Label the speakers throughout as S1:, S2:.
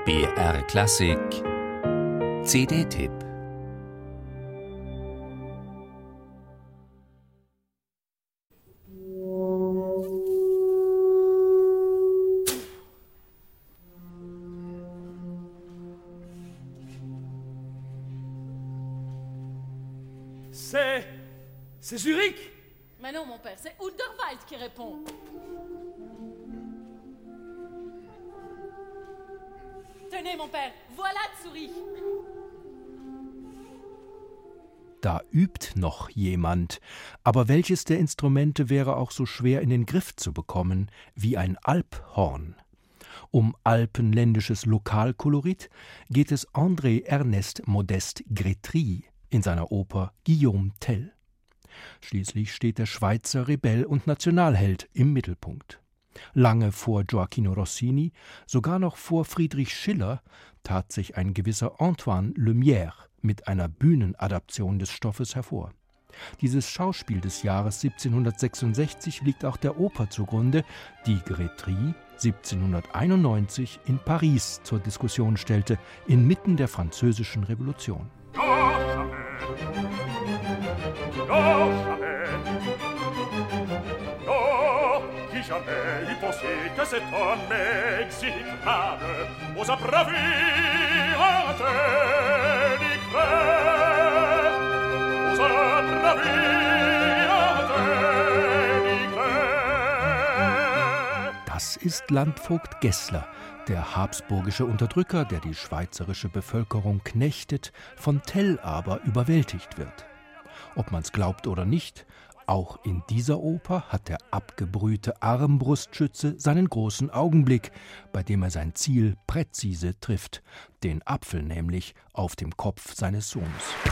S1: BR Klassik CD-Tipp.
S2: C'est Zurich?
S3: Mais non, mon père, c'est Unterwald qui répond. Tenez, mon père, voilà Zurich.
S4: Da übt noch jemand, aber welches der Instrumente wäre auch so schwer in den Griff zu bekommen wie ein Alphorn? Um alpenländisches Lokalkolorit geht es André Ernest Modeste Grétry in seiner Oper Guillaume Tell. Schließlich steht der Schweizer Rebell und Nationalheld im Mittelpunkt. Lange vor Gioachino Rossini, sogar noch vor Friedrich Schiller, tat sich ein gewisser Antoine Lumière mit einer Bühnenadaption des Stoffes hervor. Dieses Schauspiel des Jahres 1766 liegt auch der Oper zugrunde, die Grétry 1791 in Paris zur Diskussion stellte, inmitten der Französischen Revolution.
S5: Jamais eût pensé que cet homme exécrable osa bravir un tel éclair, osa bravir un tel éclair.
S4: Das ist Landvogt Gessler, der habsburgische Unterdrücker, der die schweizerische Bevölkerung knechtet, von Tell aber überwältigt wird. Ob man's glaubt oder nicht, auch in dieser Oper hat der abgebrühte Armbrustschütze seinen großen Augenblick, bei dem er sein Ziel präzise trifft, den Apfel nämlich auf dem Kopf seines Sohnes.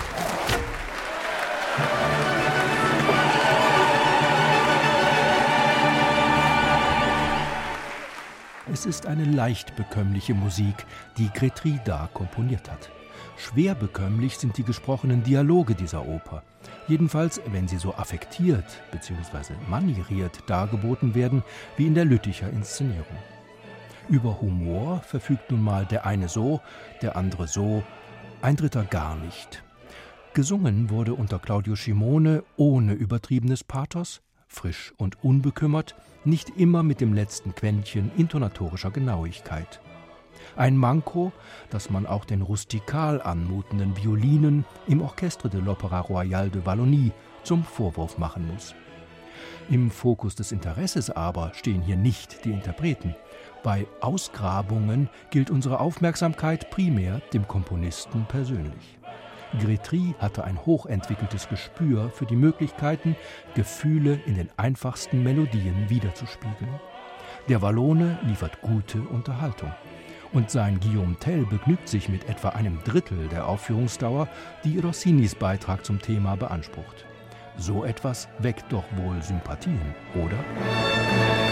S4: Es ist eine leicht bekömmliche Musik, die Grétry da komponiert hat. Schwer bekömmlich sind die gesprochenen Dialoge dieser Oper. Jedenfalls, wenn sie so affektiert bzw. manieriert dargeboten werden, wie in der Lütticher Inszenierung. Über Humor verfügt nun mal der eine so, der andere so, ein dritter gar nicht. Gesungen wurde unter Claudio Scimone ohne übertriebenes Pathos, frisch und unbekümmert, nicht immer mit dem letzten Quäntchen intonatorischer Genauigkeit. Ein Manko, das man auch den rustikal anmutenden Violinen im Orchestre de l'Opéra Royal de Wallonie zum Vorwurf machen muss. Im Fokus des Interesses aber stehen hier nicht die Interpreten. Bei Ausgrabungen gilt unsere Aufmerksamkeit primär dem Komponisten persönlich. Grétry hatte ein hochentwickeltes Gespür für die Möglichkeiten, Gefühle in den einfachsten Melodien wiederzuspiegeln. Der Wallone liefert gute Unterhaltung. Und sein Guillaume Tell begnügt sich mit etwa einem Drittel der Aufführungsdauer, die Rossinis Beitrag zum Thema beansprucht. So etwas weckt doch wohl Sympathien, oder?